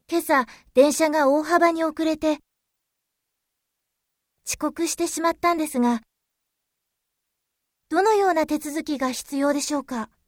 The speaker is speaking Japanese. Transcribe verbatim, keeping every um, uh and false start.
今朝、電車が大幅に遅れて、遅刻してしまったんですが、どのような手続きが必要でしょうか？